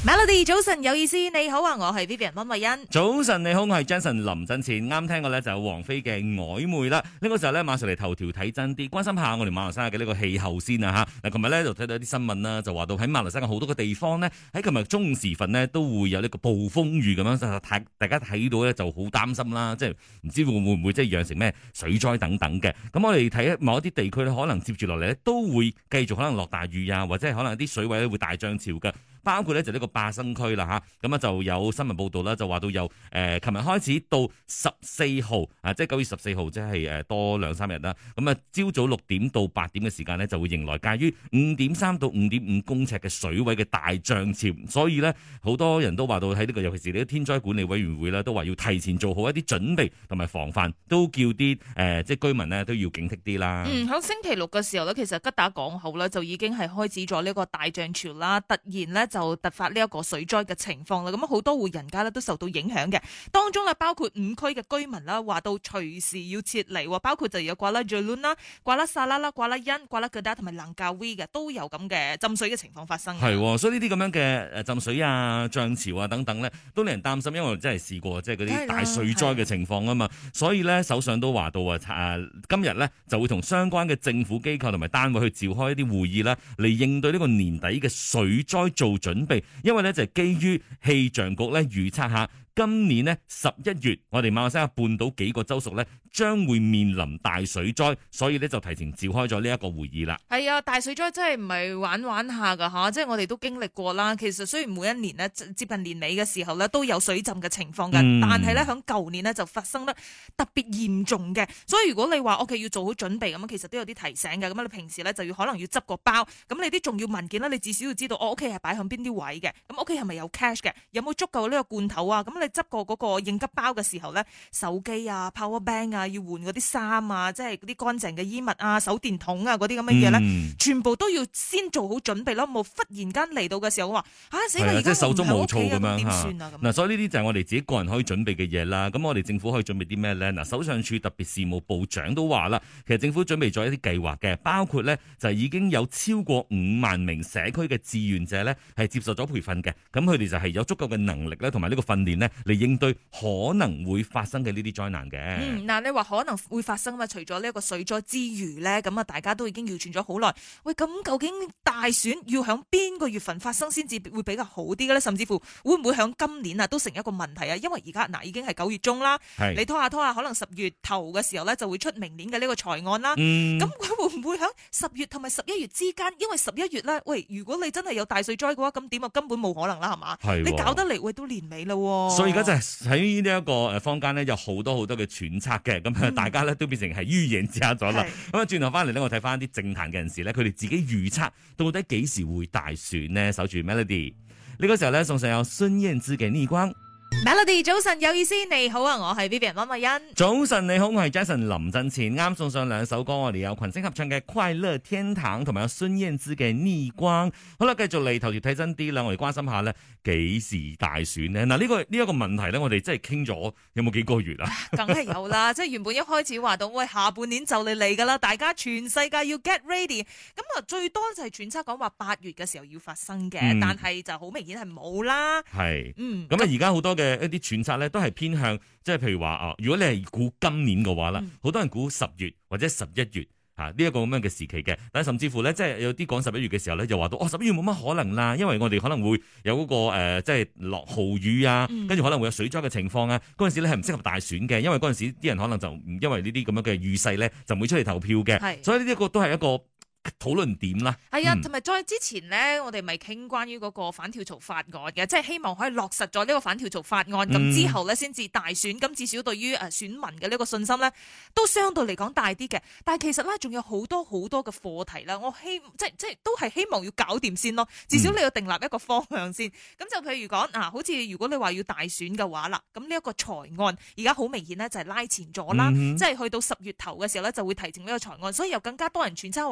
Melody 早晨有意思，你好啊，我係 Vivian 溫慧欣。 早晨你好，我係 Jason 林振前。啱聽過咧就有王菲嘅曖昧啦。呢個時候咧馬上嚟頭條睇真啲，關心下我哋馬來西亞嘅呢個氣候先啊吓。嗱，琴日咧就睇到一啲新聞啦，就話到喺馬來西亞好多個地方呢，喺琴日中午時分呢，都會有呢個暴風雨咁樣，大家睇到咧就好擔心啦，即係唔知會唔會即係釀成咩水災等等嘅。咁我哋睇某一啲地區咧，可能接住落嚟咧都會繼續可能落大雨啊，或者係可能啲水位咧會大漲潮嘅。包括咧就呢個巴生區啦嚇，咁啊就有新聞報道啦，就話到由琴日開始到14號啊，即係9月14號，即係多2-3日啦。咁啊，朝早6點到8點嘅時間呢，就會迎來介於5.3到5.5公尺嘅水位嘅大漲潮，所以咧好多人都話到喺呢個，尤其是呢個天災管理委員會啦，都話要提前做好一啲準備同埋防範，都叫啲即係居民呢都要警惕啲啦。 喺星期六嘅時候咧，其實吉打港口咧就已經係開始咗呢個大漲潮啦，突然咧就突發呢一個水災嘅情況啦，咁好多戶人家咧都受到影響嘅，當中咧包括5區嘅居民啦，話到隨時要撤離，包括就有瓜拉朱倫啦、瓜拉沙拉啦、瓜拉欣、瓜拉格達同埋蘭加威嘅都有咁嘅浸水嘅情況發生。 係，所以呢啲咁樣嘅浸水啊、漲潮啊等等咧，都令人擔心，因為我真係試過即係嗰啲大水災嘅情況啊嘛，所以咧首相都話到今日咧就會同相關嘅政府機構同埋單位去召開一啲會議啦，嚟應對呢個年底嘅水災做準備。因為咧就係基於氣象局咧預測下，今年呢11月，我哋馬來西亞半島幾個州屬咧將會面臨大水災，所以咧就提前召開咗呢一個會議啦。係啊，大水災真係唔係玩玩下噶吓，即係我哋都經歷過啦。其實雖然每一年呢接近年尾嘅時候咧都有水浸嘅情況嘅，但係咧響舊年呢就發生得特別嚴重嘅。所以如果你話屋企要做好準備咁，其實都有啲提醒嘅。咁你平時咧就要可能要執個包，咁你啲重要文件咧，你至少要知道我屋企係擺響邊啲位嘅。咁屋企係咪有 cash 嘅？有冇足夠呢個罐頭啊？咁你執過嗰個應急包嘅時候咧，手機啊、power bank 啊，要換嗰啲衫啊，即係嗰啲乾淨嘅衣物啊、手電筒啊嗰啲咁嘅嘢咧，全部都要先做好準備咯。冇忽然間嚟到嘅時候話死啦，而家手足無措咁樣點算啊？ 嗱，所以呢啲就係我哋自己個人可以準備嘅嘢啦。咁我哋政府可以準備啲咩咧？嗱，首相署特別事務部長都話啦，其實政府準備咗一啲計劃嘅，包括咧就係已經有超過5萬名社區嘅志願者咧係接受咗培訓嘅，咁佢哋就係有足夠嘅能力咧同埋呢個訓練咧嚟應對可能會發生嘅呢啲災難嘅。 嗱，你話可能會發生嘛？除咗呢一個水災之餘咧，咁啊大家都已經謠傳咗好耐。喂，咁究竟大選要響邊個月份發生先至會比較好啲嘅咧？甚至乎會唔會響今年啊都成一個問題啊？因為而家已經係9月中啦，你拖下，可能10月頭嘅時候咧就會出明年嘅呢個財案啦。咁佢會唔會響10月同埋11月之間？因為11月咧，喂，如果你真係有大水災嘅話，咁點啊？根本冇可能啦，係嘛？你搞得嚟，喂，都年尾啦。 所以而家就係喺呢一個坊間咧，有好多嘅揣測嘅，咁大家咧都變成係預言家咗啦。咁啊，轉頭翻嚟咧，我睇翻啲政壇嘅人士咧，佢哋自己預測到底幾時會大選呢？守住 Melody 呢個時候咧，送上有孫燕姿嘅逆光。 Melody 早晨有意思，你好啊，我係 Vivian 溫慧欣。 早晨你好，我係 Jason 林振前。啱送上2首歌，我哋有群星合唱嘅《快樂天堂》同埋有孫燕姿嘅《逆光》。好啦，繼續嚟頭條睇真啲啦，我哋關心下咧，幾時大選呢？嗱，呢一個問題咧，我哋真係傾咗有冇幾個月啊？ 梗係有啦，即係原本一開始話到喂，下半年就嚟噶啦，大家全世界要 get ready。咁啊，最多就係揣測講話8月嘅時候要發生嘅，但係就好明顯係冇啦。 係，咁啊，而家好多嘅一啲揣測咧，都係偏向即係譬如話如果你係估今年嘅話啦，好多人估10月或者11月呢一個咁樣嘅時期嘅，但係甚至乎咧，即係有啲講11月嘅時候咧，就話到11月冇乜可能啦，因為我哋可能會有嗰個即係落豪雨啊，跟住可能會有水災嘅情況啊，嗰陣時咧係唔適合大選嘅，因為嗰陣時啲人可能就唔因為呢啲咁樣嘅預勢咧，就唔會出嚟投票嘅，所以呢一個都係一個討論點啦， 係啊，同埋再之前咧，我哋咪傾關於嗰個反跳槽法案嘅，即係希望可以落實咗呢個反跳槽法案，咁之後咧先至大選，咁至少對於選民嘅呢個信心咧，都相對嚟講大啲嘅。但係其實咧，仲有好多嘅課題啦，我即係都係希望要搞掂先咯，至少你要訂立一個方向先。咁就譬如講好似如果你話要大選嘅話啦，咁呢一個財案而家好明顯咧就係拉前咗啦，即係去到10月頭嘅時候咧就會提呈呢個財案，所以又更加多人揣測話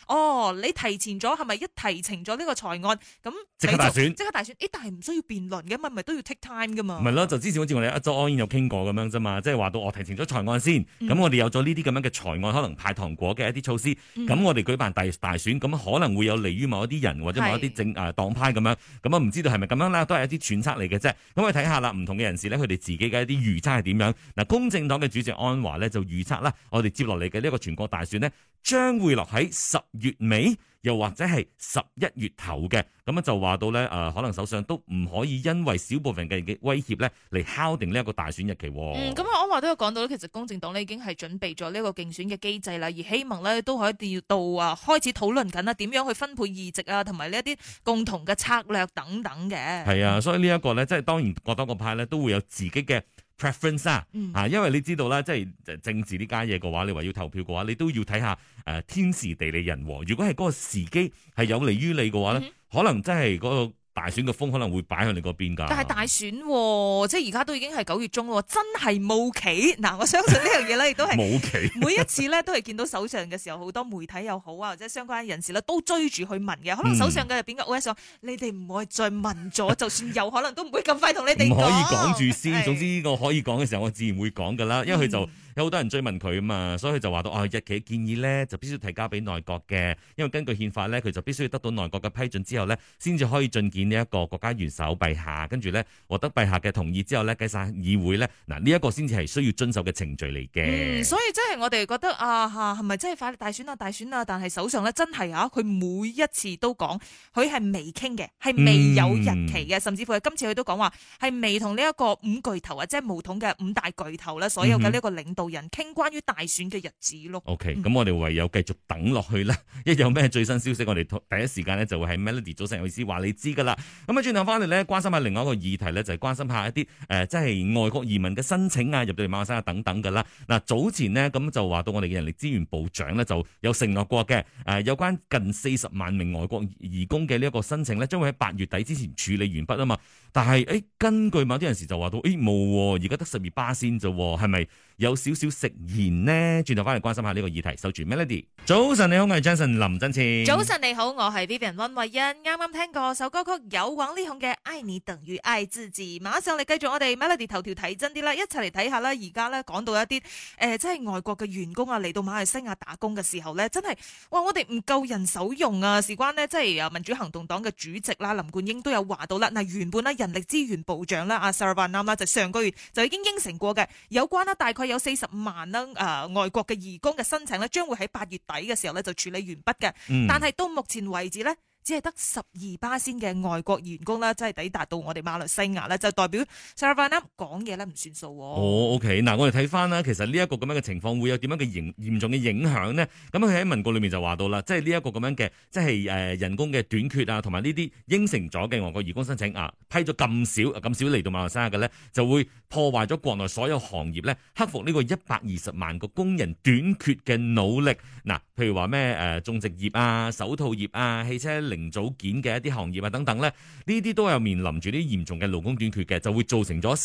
你提前咗係咪一提呈咗呢個財案咁即刻大選？ 但係唔需要辯論嘅嘛，咪都要 take time 噶嘛。 唔係咯，就之前好似我哋一周安有傾過咁樣啫嘛，即係話到我提呈咗財案先，咁我哋有咗呢啲咁樣嘅財案，可能派糖果嘅一啲措施，咁我哋舉辦大選，咁可能會有利於某一啲人或者某一啲黨派咁樣，咁啊唔知道係咪咁樣啦，都係一啲揣測嚟嘅啫。咁我睇下啦，唔同嘅人士咧，佢哋自己嘅一啲預測係點樣？嗱，公正黨嘅主席安華咧就預測啦，我哋接落嚟嘅呢個全國大選呢，將會落喺10月尾，又或者係11月頭嘅。咁就話到咧，可能首相都唔可以因為少部分嘅威脅咧嚟敲定呢一個大選日期。 咁安華都有講到咧，其實公正黨咧已經係準備咗呢個競選嘅機制啦，而希望咧都可以到開始討論緊啦，點樣去分配議席啊，同埋呢一啲共同嘅策略等等嘅。係啊，所以呢一個咧，即係當然各黨各派咧都會有自己嘅preference 因為你知道啦，即係政治呢家嘢嘅話，你話要投票嘅話，你都要睇下天時地利人和。如果係嗰個時機係有利於你嘅話咧，可能真係嗰個大選嘅風可能會擺向你嗰邊㗎。 但係大選即係而家都已經係9月中咯，真係冇期。嗱，我相信呢樣嘢咧，亦都係冇期。每一次咧都係見到首相嘅時候，好多媒體又好啊，或者相關人士咧都追住去問嘅。可能首相嘅入邊嘅 OS 你哋唔可以再問咗，就算有可能都唔會咁快同你哋講。唔可以講住先，總之呢個可以講嘅時候，我自然會講㗎啦，因為佢就。有好多人追問佢啊嘛，所以佢就話到日期建議咧就必須提交俾內閣嘅，因為根據憲法咧，佢就必須要得到內閣嘅批准之後咧，先至可以進見呢一個國家元首陛下，跟住咧獲得陛下嘅同意之後咧，計晒議會咧，嗱呢一個先至係需要遵守嘅程序嚟嘅。所以真係我哋覺得係咪真係快大選啊？但係首相咧真係佢每一次都講佢係未傾嘅，係未有日期嘅，甚至乎係今次佢都講話係未同呢一個五巨頭啊，即係巫統嘅五大巨頭咧，所有嘅呢個領導人傾關於大選嘅日子咯。OK，咁我哋唯有繼續等落去啦。一有咩最新消息，我哋第一時間咧就會喺 Melody 早晨有意思話你知噶啦。咁轉頭翻嚟咧，關心下另外一個議題咧，就係關心下一啲即係外國移民嘅申請啊，入到嚟馬來西亞等等噶啦。嗱，早前呢，咁就話到我哋嘅人力資源部長咧就有承諾過嘅，有關近40萬名外國移工嘅呢一個申請咧，將會喺8月底之前處理完畢啊嘛。但係根據某啲人士就話到冇，而家得12%先啫，係咪有少少食言呢？轉頭翻嚟關心下呢個議題，守住 Melody。早晨你好，我係 Jason 林振前。早晨你好，我係 Vivian 溫慧欣。啱啱聽過首歌曲有王力宏嘅《愛你等於愛自己》，馬上嚟繼續我哋 Melody 頭條睇真啲啦，一齊嚟睇下啦。而家咧講到一啲即係外國嘅員工啊嚟到馬來西亞打工嘅時候咧，真係哇我哋唔夠人手用啊！事關呢，即係民主行動黨嘅主席啦林冠英都有話到啦。嗱，原本咧人力資源部長啦阿 Saravanan 啦就上個月就已經應承過嘅，有關啦大概有40萬啦外國嘅移工嘅申請咧，將會喺8月底嘅時候咧就處理完畢嘅。但係到目前為止咧，只係得12%先嘅外國員工啦，即係抵達到我哋馬來西亞咧，就代表 Saravanan 講嘢咧唔算數。OK， 嗱我哋睇翻啦，其實呢一個咁樣嘅情況會有點樣嘅嚴重嘅影響呢？咁佢喺文告裏面就話到啦，即係呢一個咁樣嘅，即係人工嘅短缺啊，同埋呢啲應承咗嘅外國移工申請批咗咁少嚟到馬來西亞嘅咧，就會破壞咗國內所有行業咧克服呢個120萬個工人短缺嘅努力。嗱，譬如話咩種植業啊、手套業啊、汽車零組件嘅一啲行業啊等等咧，呢啲都有面臨住啲嚴重嘅勞工短缺嘅，就會造成咗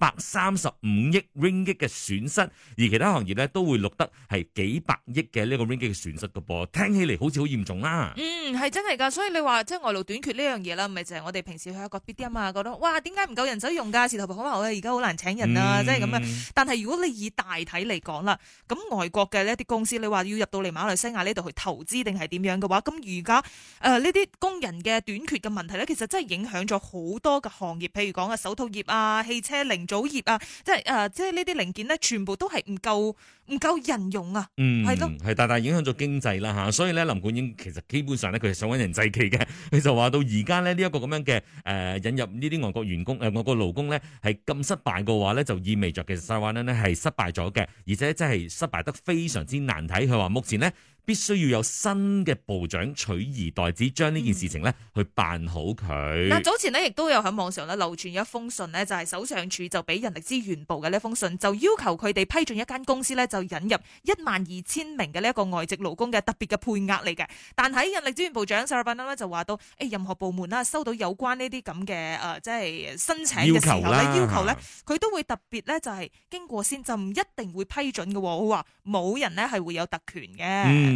335億 ringgit 嘅損失，而其他行業咧都會錄得係幾百億嘅呢個 ringgit 嘅損失噶噃，聽起嚟好似好嚴重啦。係真係噶，所以你話即係外勞短缺呢樣嘢啦，咪就係我哋平時去一個 BDM 啊，覺得哇點解唔夠人手用噶？時頭婆好話而家好難請人啊，即係咁樣。但係如果你以大體嚟講啦，咁外國嘅呢一啲公司，你話要入到嚟馬來西亞呢度去投資定係點樣嘅話，咁而家呢啲工人嘅短缺嘅問題咧，其實真係影響咗好多嘅行業，譬如講手套業啊、汽車零組業啊，即係呢啲零件咧，全部都係唔夠人用啊。係咯，係大大影響咗經濟啦吓。所以咧，林冠英其實基本上咧，佢係想揾人祭旗嘅。佢就話到而家咧呢一個咁樣嘅引入呢啲外國員工外國勞工咧係咁失敗嘅話咧，就意味着其實Saravanan咧係失敗咗嘅，而且真係失敗得非常之難睇。佢話目前呢，必須要有新嘅部長取而代之，將呢件事情咧去辦好佢。嗱，早前呢亦都有喺網上咧流傳一封信呢，就係首相署就俾人力資源部嘅呢封信，就要求佢哋批准一間公司咧就引入12000名嘅呢一個外籍勞工嘅特別嘅配額嚟嘅。但喺人力資源部長 Saravanan 咧就話到，任何部門啦收到有關呢啲咁嘅即係申請嘅時候咧要求咧，佢都會特別咧就係經過先，就唔一定會批准嘅。佢話冇人咧係會有特權嘅。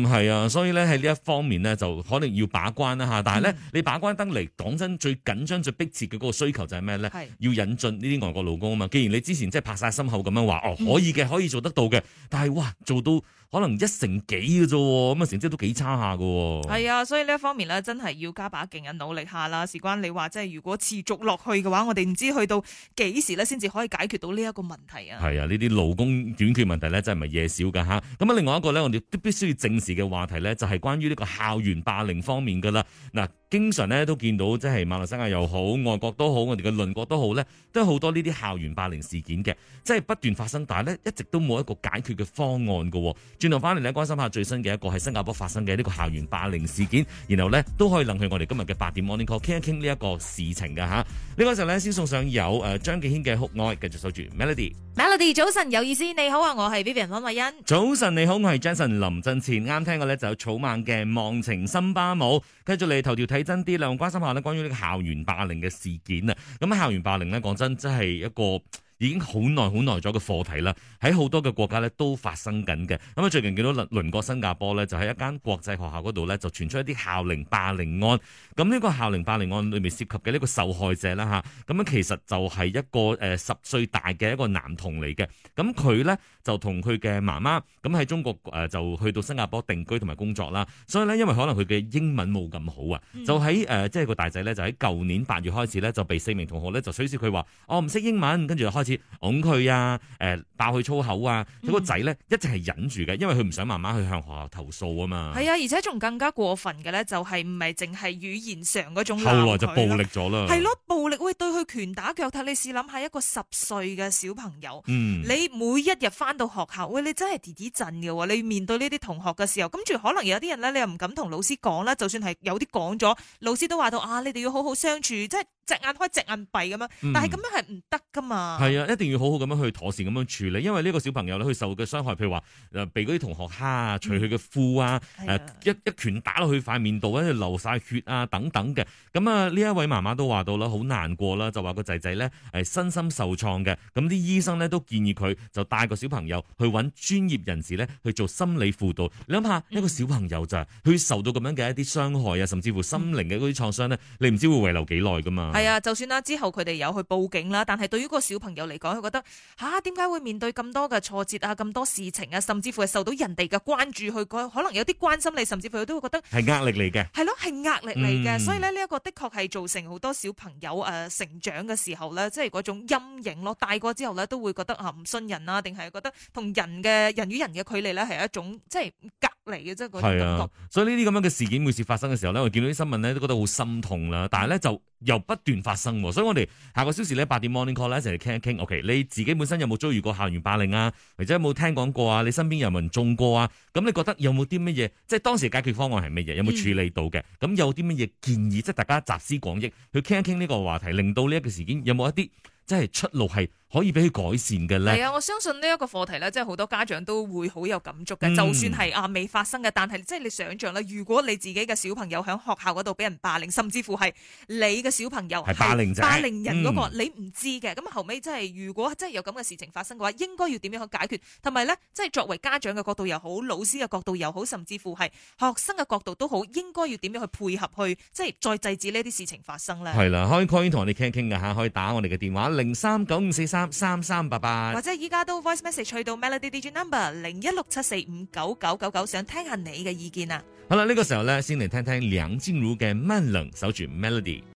係啊，所以咧喺呢一方面呢，就可能要把關啦吓。但係咧，你把關得嚟，講真，最緊張、最迫切嘅嗰個需求就係咩咧？係要引進呢啲外國勞工啊嘛。既然你之前即係拍晒心口咁樣話，可以嘅，可以做得到嘅，但係哇，做到可能1成幾嘅啫，咁啊成績都幾差下㗎。 係啊，所以呢一方面咧，真係要加把勁啊，努力下啦。事關你話即係如果持續落去嘅話，我哋唔知去到幾時咧，先至可以解決到呢一個問題啊。 係啊，呢啲勞工短缺問題咧，真係唔係嘢少㗎吓。咁啊，另外一個咧，我哋都必須要正視嘅話題咧，就係關於呢個校園霸凌方面㗎啦。嗱，經常咧都見到即係馬來西亞又好，外國都好，我哋嘅鄰國都好咧，都有好多呢啲校園霸凌事件嘅，即係不斷發生，但係咧一直都冇一個解決嘅方案㗎。轉頭翻嚟咧，關心下最新嘅一個係新加坡發生嘅呢個校園霸凌事件，然後咧都可以諗起我哋今日嘅8點 Morning Call 傾一傾呢一個事情㗎吓。呢個時候咧先送上有張敬軒嘅酷愛，繼續守住 Melody。Melody 早晨有意思，你好啊，我係 Vivian 溫慧欣。 早晨你好，我係 Jason 林振前。啱聽過咧就有草蜢嘅忘情森巴舞，繼續嚟頭條睇真啲啦，關心下咧關於呢個校園霸凌嘅事件啊。咁校園霸凌咧講真真係一個已經好耐咗嘅課題啦，喺好多嘅國家咧都發生緊嘅。咁啊，最近見到鄰國新加坡咧，就喺一間國際學校嗰度咧，就傳出一啲校齡霸凌案。咁呢個校齡霸凌案裏面涉及嘅呢個受害者啦嚇，咁樣其實就係一個10歲大嘅一個男童嚟嘅。咁佢咧就同佢嘅媽媽咁喺中國就去到新加坡定居同埋工作啦。所以咧，因為可能佢嘅英文冇咁好啊，就喺即係個大仔咧，就喺舊年8月開始咧，就被4名同學咧就取笑佢話我唔識英文，跟住就開始拱佢啊，爆佢粗口啊。佢個仔咧一直係忍住嘅，因為佢唔想媽媽去向學校投訴啊嘛。係啊，而且仲更加過分嘅咧，就係唔係淨係語言上嗰種鬧佢， 後來就暴力咗啦。 係咯，暴力對佢拳打腳踢。你試諗下一個10歲嘅小朋友，你每一日翻到學校，喂，你真係跌跌震嘅喎。你面對呢啲同學嘅時候，跟住可能有啲人咧，你又唔敢同老師講啦。就算係有啲講咗，老師都話到啊，你哋要好好相處，即係隻眼開隻眼閉咁樣。但係咁樣係唔得噶嘛。係啊，一定要好好咁樣去妥善咁樣處理，因為呢個小朋友咧，佢受嘅傷害，譬如話被嗰啲同學蝦啊，除佢嘅褲啊，一拳打落去塊面度，跟住流晒血啊等等嘅。咁啊，呢一位媽媽都話到啦，好難過啦，就話個仔仔咧身心受創嘅。咁啲醫生咧都建議佢就帶個小朋友去揾專業人士咧去做心理輔導。你諗下，一個小朋友咋，佢受到咁樣嘅一啲傷害啊，甚至乎心靈嘅嗰啲創傷咧，你唔知會遺留幾耐噶嘛。 係啊，就算啦，之後佢哋有去報警啦，但係對於個小朋友嚟講，佢覺得點解會面對咁多嘅挫折啊，咁多事情啊，甚至乎係受到人哋嘅關注，佢可能有啲關心你，甚至乎佢都會覺得係壓力嚟嘅。 係咯，係壓力嚟嘅。所以咧，呢一個的確係造成好多小朋友成長嘅時候咧，即係嗰種陰影咯。大個之後咧，都會覺得唔信人啊，定係覺得同人與人嘅距離咧係一種即係隔離嘅啫，嗰種感覺。 所以呢啲咁樣嘅事件每次發生嘅時候咧，我見到啲新聞咧都覺得好心痛啦。但係咧就又不斷發生，所以我哋下個小時咧8點 Morning Call 咧一齊嚟傾一傾。OK，你自己本身有冇遭遇過校園霸凌啊？或者有冇聽講過啊？你身邊有冇人中過啊？咁你覺得有冇啲乜嘢？即係當時解決方案係乜嘢？有冇處理到嘅？咁有啲乜嘢建議？即係大家集思廣益去傾一傾呢個話題，令到呢一個事件有冇一啲即係出路係可以俾佢改善嘅咧？ 係啊，我相信呢一個課題咧，即係好多家長都會好有感觸嘅。就算係未發生嘅，但係即係你想象啦，如果你自己嘅小朋友喺學校嗰度俾人霸凌，甚至乎係你嘅小朋友係霸凌人嗰個，你唔知嘅。咁後尾即係如果真係有咁嘅事情發生嘅話，應該要點樣去解決？同埋咧，即係作為家長嘅角度又好，老師嘅角度又好，甚至乎係學生嘅角度都好，應該要點樣去配合去即係再制止呢啲事情發生咧？ 係啦，可以 call 同我哋傾一傾㗎嚇，可以打我哋嘅電話0395433388， 或者依家都 voice message 去到 Melody DJ number 0167459999，想聽下你嘅意見啊！ 好啦，呢個時候咧，先嚟聽聽梁靜茹嘅《慢冷》，守住 Melody。